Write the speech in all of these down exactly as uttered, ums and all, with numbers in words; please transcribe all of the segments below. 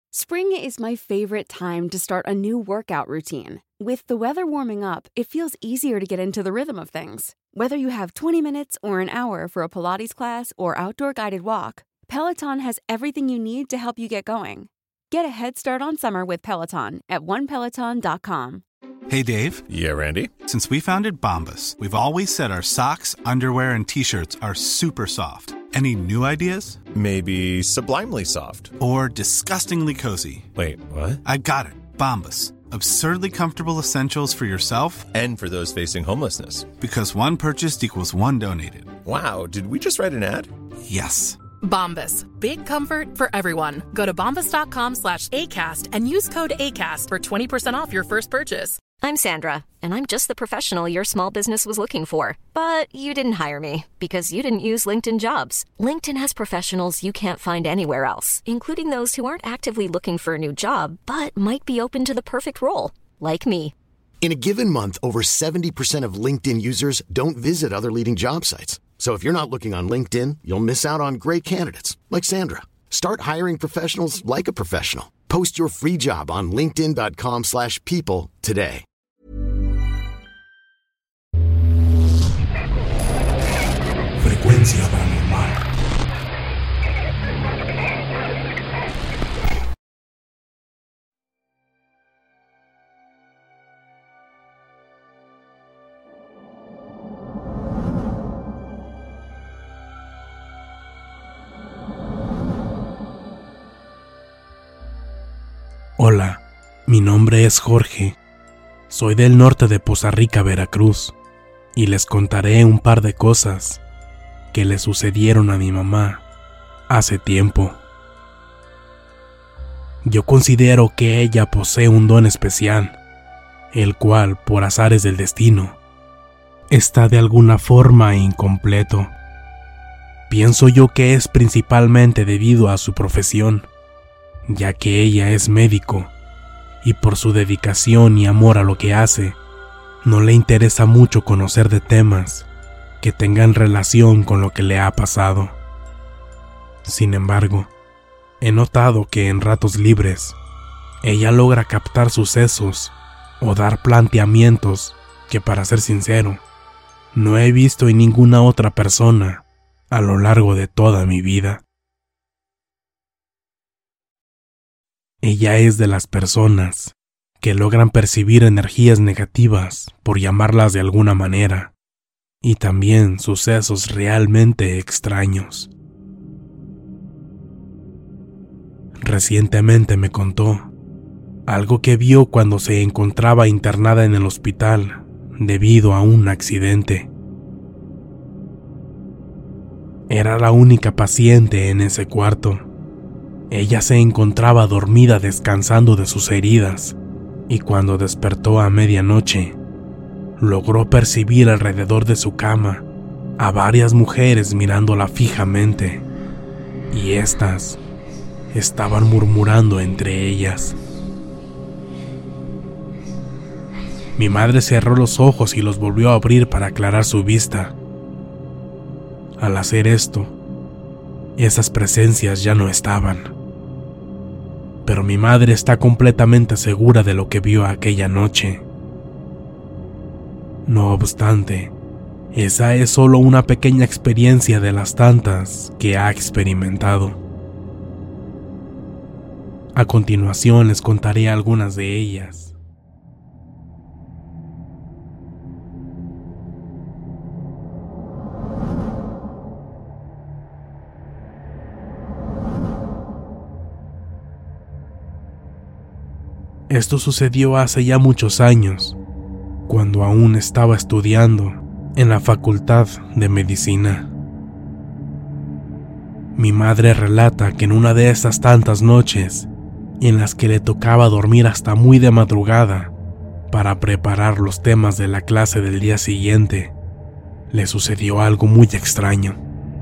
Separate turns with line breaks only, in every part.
Spring is my favorite time to start a new workout routine. With the weather warming up, it feels easier to get into the rhythm of things. Whether you have twenty minutes or an hour for a Pilates class or outdoor guided walk, Peloton has everything you need to help you get going. Get a head start on summer with Peloton at one peloton dot com.
Hey, Dave.
Yeah, Randy.
Since we founded Bombas, we've always said our socks, underwear, and T-shirts are super soft. Any new ideas?
Maybe sublimely soft.
Or disgustingly cozy.
Wait, what?
I got it. Bombas. Absurdly comfortable essentials for yourself
and for those facing homelessness.
Because one purchased equals one donated.
Wow, did we just write an ad?
Yes.
Bombas. Big comfort for everyone. Go to bombas.com slash ACAST and use code ACAST for twenty percent off your first purchase.
I'm Sandra, and I'm just the professional your small business was looking for. But you didn't hire me because you didn't use LinkedIn Jobs. LinkedIn has professionals you can't find anywhere else, including those who aren't actively looking for a new job, but might be open to the perfect role, like me.
In a given month, over seventy percent of LinkedIn users don't visit other leading job sites. So if you're not looking on LinkedIn, you'll miss out on great candidates like Sandra. Start hiring professionals like a professional. Post your free job on linkedin dot com slash people today.
Frecuencia paranormal. Hola, mi nombre es Jorge. Soy del norte de Poza Rica, Veracruz, y les contaré un par de cosas que le sucedieron a mi mamá hace tiempo. Yo considero que ella posee un don especial, el cual, por azares del destino, está de alguna forma incompleto. Pienso yo que es principalmente debido a su profesión, ya que ella es médico, y por su dedicación y amor a lo que hace, no le interesa mucho conocer de temas que tengan relación con lo que le ha pasado. Sin embargo, he notado que en ratos libres, ella logra captar sucesos o dar planteamientos que, para ser sincero, no he visto en ninguna otra persona a lo largo de toda mi vida. Ella es de las personas que logran percibir energías negativas, por llamarlas de alguna manera, y también sucesos realmente extraños. Recientemente me contó algo que vio cuando se encontraba internada en el hospital debido a un accidente. Era la única paciente en ese cuarto. Ella se encontraba dormida descansando de sus heridas, y cuando despertó a medianoche, logró percibir alrededor de su cama a varias mujeres mirándola fijamente, y éstas estaban murmurando entre ellas. Mi madre cerró los ojos y los volvió a abrir para aclarar su vista. Al hacer esto, esas presencias ya no estaban. Pero mi madre está completamente segura de lo que vio aquella noche. No obstante, esa es solo una pequeña experiencia de las tantas que ha experimentado. A continuación les contaré algunas de ellas. Esto sucedió hace ya muchos años, cuando aún estaba estudiando en la Facultad de Medicina. Mi madre relata que en una de esas tantas noches, en las que le tocaba dormir hasta muy de madrugada para preparar los temas de la clase del día siguiente, le sucedió algo muy extraño.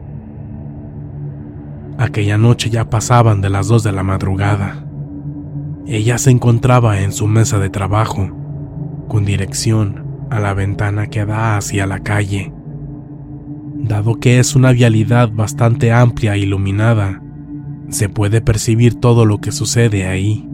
Aquella noche ya pasaban de las dos de la madrugada. Ella se encontraba en su mesa de trabajo, con dirección a la ventana que da hacia la calle. Dado que es una vialidad bastante amplia e iluminada, se puede percibir todo lo que sucede ahí.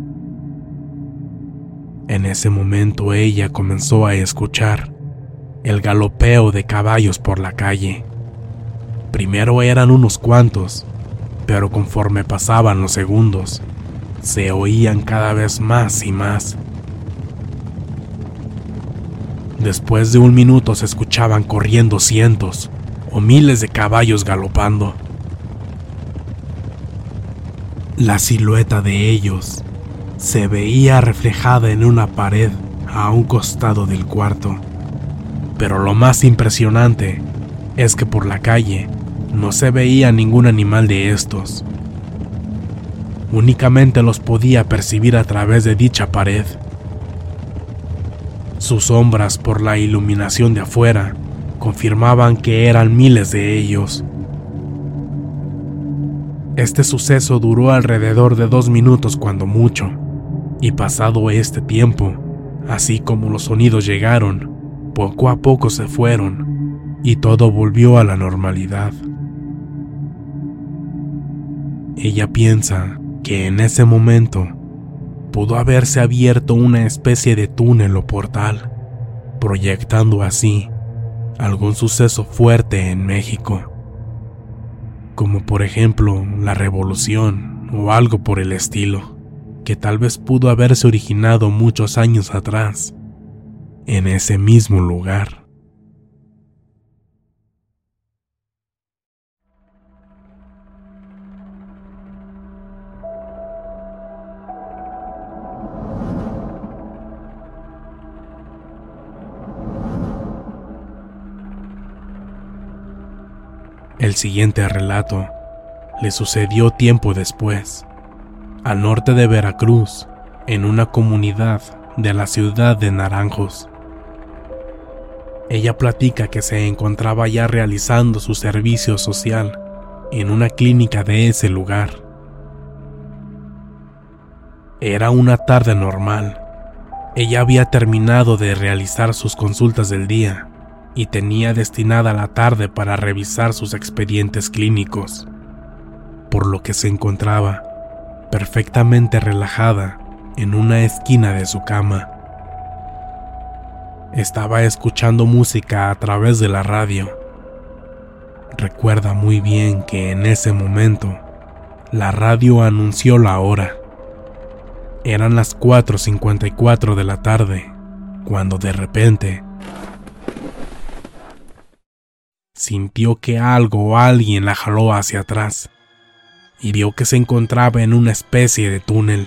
En ese momento ella comenzó a escuchar el galopeo de caballos por la calle. Primero eran unos cuantos, pero conforme pasaban los segundos, se oían cada vez más y más. Después de un minuto se escuchaban corriendo cientos o miles de caballos galopando. La silueta de ellos se veía reflejada en una pared a un costado del cuarto. Pero lo más impresionante es que por la calle no se veía ningún animal de estos. Únicamente los podía percibir a través de dicha pared. Sus sombras por la iluminación de afuera confirmaban que eran miles de ellos. Este suceso duró alrededor de dos minutos cuando mucho, y pasado este tiempo, así como los sonidos llegaron, poco a poco se fueron y todo volvió a la normalidad. Ella piensa que en ese momento pudo haberse abierto una especie de túnel o portal, proyectando así algún suceso fuerte en México, como por ejemplo la revolución o algo por el estilo, que tal vez pudo haberse originado muchos años atrás, en ese mismo lugar. El siguiente relato le sucedió tiempo después, al norte de Veracruz, en una comunidad de la ciudad de Naranjos. Ella platica que se encontraba ya realizando su servicio social en una clínica de ese lugar. Era una tarde normal. Ella había terminado de realizar sus consultas del día y tenía destinada la tarde para revisar sus expedientes clínicos, por lo que se encontraba perfectamente relajada en una esquina de su cama. Estaba escuchando música a través de la radio. Recuerda muy bien que en ese momento la radio anunció la hora. Eran las cuatro cincuenta y cuatro de la tarde, cuando de repente sintió que algo o alguien la jaló hacia atrás y vio que se encontraba en una especie de túnel.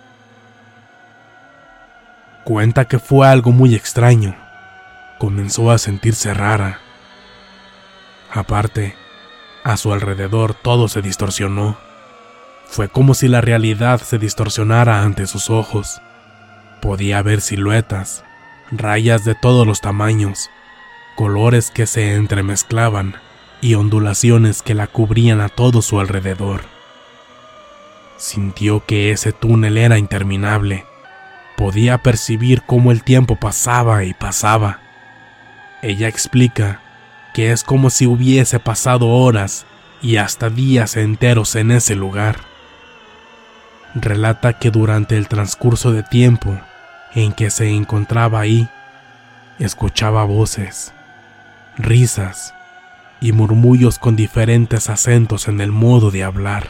Cuenta que fue algo muy extraño. Comenzó a sentirse rara. Aparte, a su alrededor todo se distorsionó. Fue como si la realidad se distorsionara ante sus ojos. Podía ver siluetas, rayas de todos los tamaños, colores que se entremezclaban y ondulaciones que la cubrían a todo su alrededor. Sintió que ese túnel era interminable. Podía percibir cómo el tiempo pasaba y pasaba. Ella explica que es como si hubiese pasado horas y hasta días enteros en ese lugar. Relata que durante el transcurso de tiempo en que se encontraba ahí, escuchaba voces, risas y murmullos con diferentes acentos en el modo de hablar.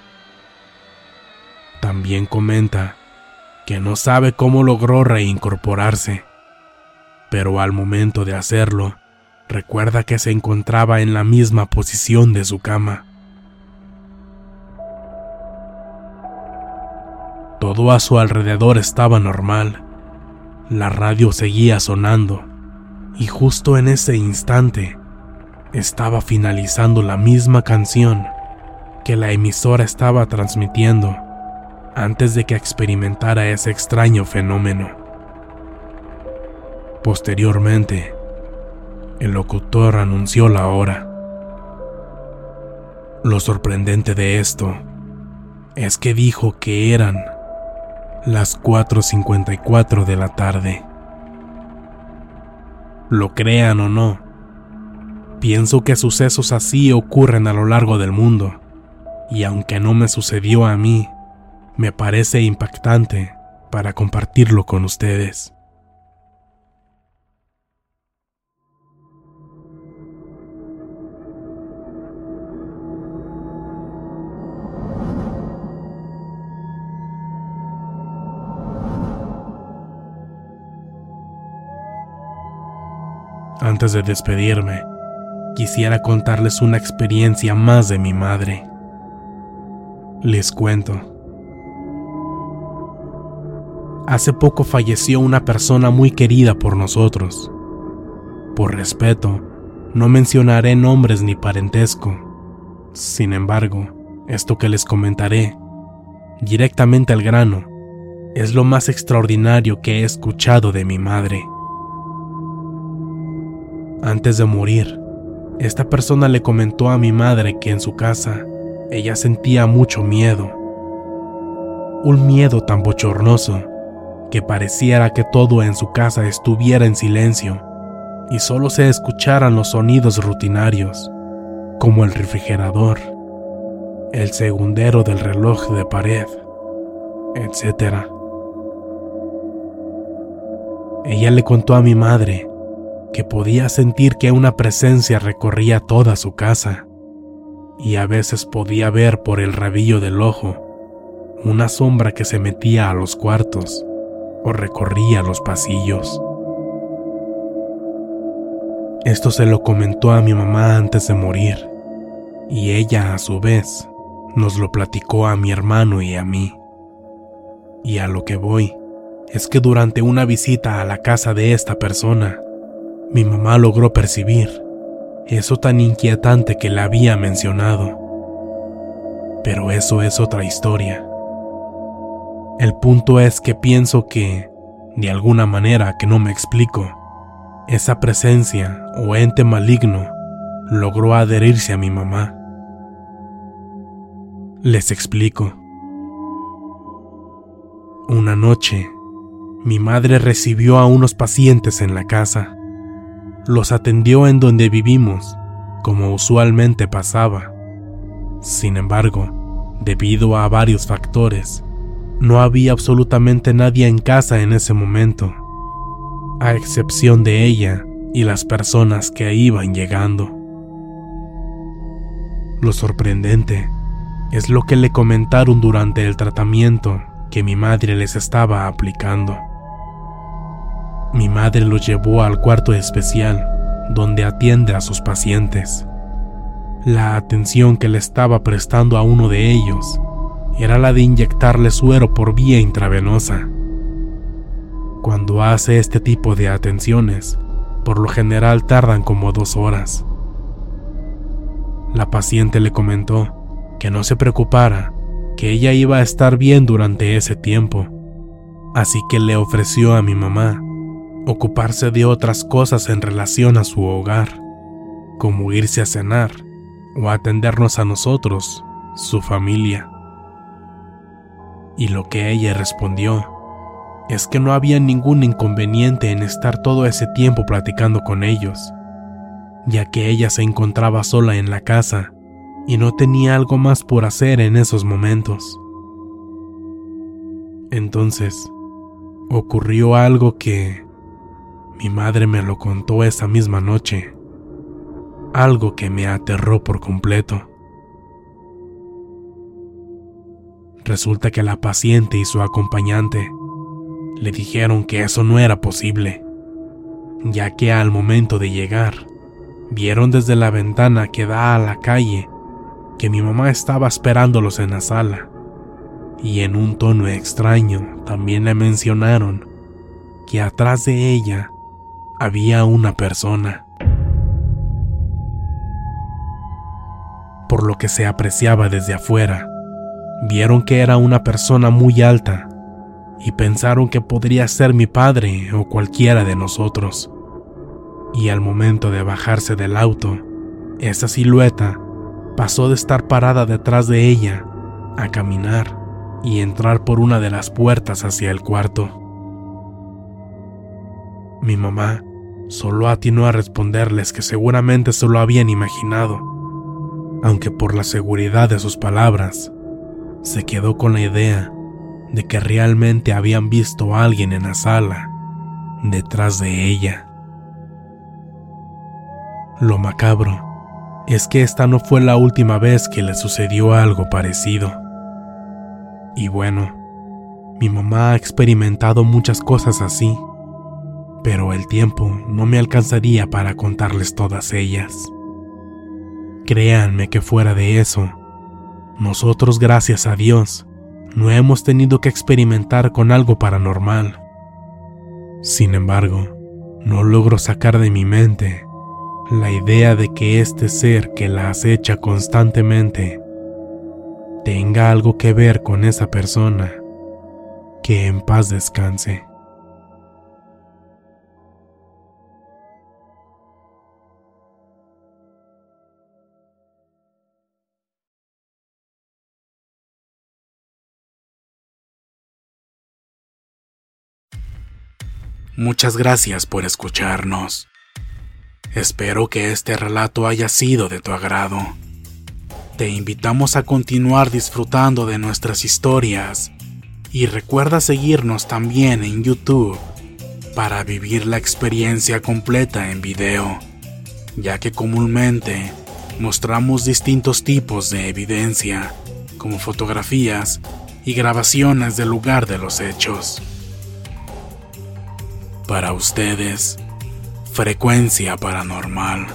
También comenta que no sabe cómo logró reincorporarse, pero al momento de hacerlo, recuerda que se encontraba en la misma posición de su cama. Todo a su alrededor estaba normal. La radio seguía sonando, y justo en ese instante estaba finalizando la misma canción que la emisora estaba transmitiendo antes de que experimentara ese extraño fenómeno. Posteriormente, el locutor anunció la hora. Lo sorprendente de esto es que dijo que eran las cuatro cincuenta y cuatro de la tarde. Lo crean o no, pienso que sucesos así ocurren a lo largo del mundo, y aunque no me sucedió a mí, me parece impactante para compartirlo con ustedes. Antes de despedirme, quisiera contarles una experiencia más de mi madre. Les cuento. Hace poco falleció una persona muy querida por nosotros. Por respeto, no mencionaré nombres ni parentesco. Sin embargo, esto que les comentaré, directamente al grano, es lo más extraordinario que he escuchado de mi madre. Antes de morir, esta persona le comentó a mi madre que en su casa ella sentía mucho miedo. Un miedo tan bochornoso que pareciera que todo en su casa estuviera en silencio y solo se escucharan los sonidos rutinarios, como el refrigerador, el segundero del reloj de pared, etcétera. Ella le contó a mi madre que podía sentir que una presencia recorría toda su casa y a veces podía ver por el rabillo del ojo una sombra que se metía a los cuartos o recorría los pasillos. Esto se lo comentó a mi mamá antes de morir y ella a su vez nos lo platicó a mi hermano y a mí. Y a lo que voy es que durante una visita a la casa de esta persona, mi mamá logró percibir eso tan inquietante que le había mencionado. Pero eso es otra historia. El punto es que pienso que, de alguna manera que no me explico, esa presencia o ente maligno logró adherirse a mi mamá. Les explico. Una noche, mi madre recibió a unos pacientes en la casa. Los atendió en donde vivimos, como usualmente pasaba. Sin embargo, debido a varios factores, no había absolutamente nadie en casa en ese momento, a excepción de ella y las personas que iban llegando. Lo sorprendente es lo que le comentaron durante el tratamiento que mi madre les estaba aplicando. Mi madre los llevó al cuarto especial donde atiende a sus pacientes. La atención que le estaba prestando a uno de ellos era la de inyectarle suero por vía intravenosa. Cuando hace este tipo de atenciones, por lo general tardan como dos horas. La paciente le comentó que no se preocupara, que ella iba a estar bien durante ese tiempo, así que le ofreció a mi mamá ocuparse de otras cosas en relación a su hogar, como irse a cenar o atendernos a nosotros, su familia. Y lo que ella respondió es que no había ningún inconveniente en estar todo ese tiempo platicando con ellos, ya que ella se encontraba sola en la casa y no tenía algo más por hacer en esos momentos. Entonces, ocurrió algo que mi madre me lo contó esa misma noche, algo que me aterró por completo. Resulta que la paciente y su acompañante le dijeron que eso no era posible, ya que al momento de llegar, vieron desde la ventana que da a la calle que mi mamá estaba esperándolos en la sala, y en un tono extraño también le mencionaron que atrás de ella había una persona. Por lo que se apreciaba desde afuera, vieron que era una persona muy alta y pensaron que podría ser mi padre o cualquiera de nosotros. Y al momento de bajarse del auto, esa silueta pasó de estar parada detrás de ella a caminar y entrar por una de las puertas hacia el cuarto. Mi mamá solo atinó a responderles que seguramente se lo habían imaginado, aunque por la seguridad de sus palabras, se quedó con la idea de que realmente habían visto a alguien en la sala, detrás de ella. Lo macabro es que esta no fue la última vez que le sucedió algo parecido. Y bueno, mi mamá ha experimentado muchas cosas así, pero el tiempo no me alcanzaría para contarles todas ellas. Créanme que fuera de eso, nosotros, gracias a Dios, no hemos tenido que experimentar con algo paranormal. Sin embargo, no logro sacar de mi mente la idea de que este ser que la acecha constantemente tenga algo que ver con esa persona. Que en paz descanse. Muchas gracias por escucharnos. Espero que este relato haya sido de tu agrado. Te invitamos a continuar disfrutando de nuestras historias y recuerda seguirnos también en YouTube para vivir la experiencia completa en video, ya que comúnmente mostramos distintos tipos de evidencia, como fotografías y grabaciones del lugar de los hechos. Para ustedes, Frecuencia Paranormal.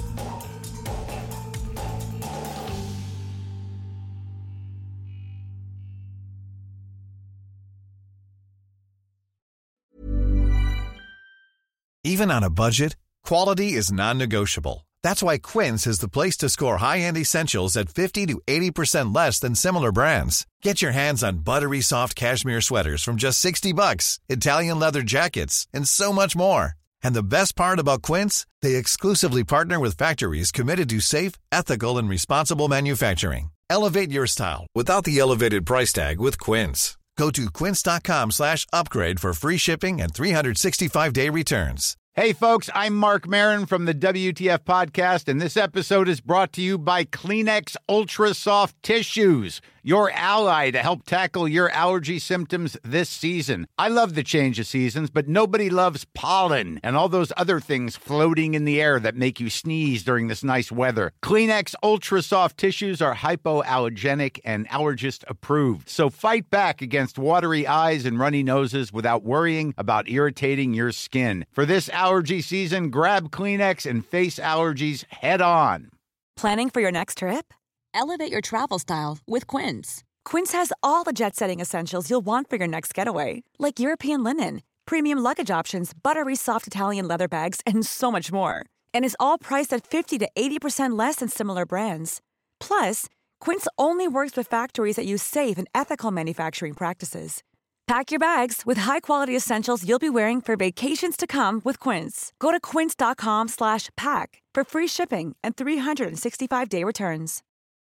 Even on a budget, quality is non-negotiable. That's why Quince is the place to score high-end essentials at fifty to eighty percent less than similar brands. Get your hands on buttery soft cashmere sweaters from just sixty bucks, Italian leather jackets, and so much more. And the best part about Quince, they exclusively partner with factories committed to safe, ethical, and responsible manufacturing. Elevate your style without the elevated price tag with Quince. Go to quince.com slash upgrade for free shipping and three sixty-five day returns.
Hey, folks, I'm Mark Maron from the W T F Podcast, and this episode is brought to you by Kleenex Ultra Soft Tissues, your ally to help tackle your allergy symptoms this season. I love the change of seasons, but nobody loves pollen and all those other things floating in the air that make you sneeze during this nice weather. Kleenex Ultra Soft Tissues are hypoallergenic and allergist approved, so fight back against watery eyes and runny noses without worrying about irritating your skin. For this allergy season, grab Kleenex and face allergies head on.
Planning for your next trip? Elevate your travel style with Quince. Quince has all the jet-setting essentials you'll want for your next getaway, like European linen, premium luggage options, buttery soft Italian leather bags, and so much more. And is all priced at fifty to eighty percent less than similar brands. Plus, Quince only works with factories that use safe and ethical manufacturing practices. Pack your bags with high-quality essentials you'll be wearing for vacations to come with Quince. Go to quince.com slash pack for free shipping and three sixty-five day returns.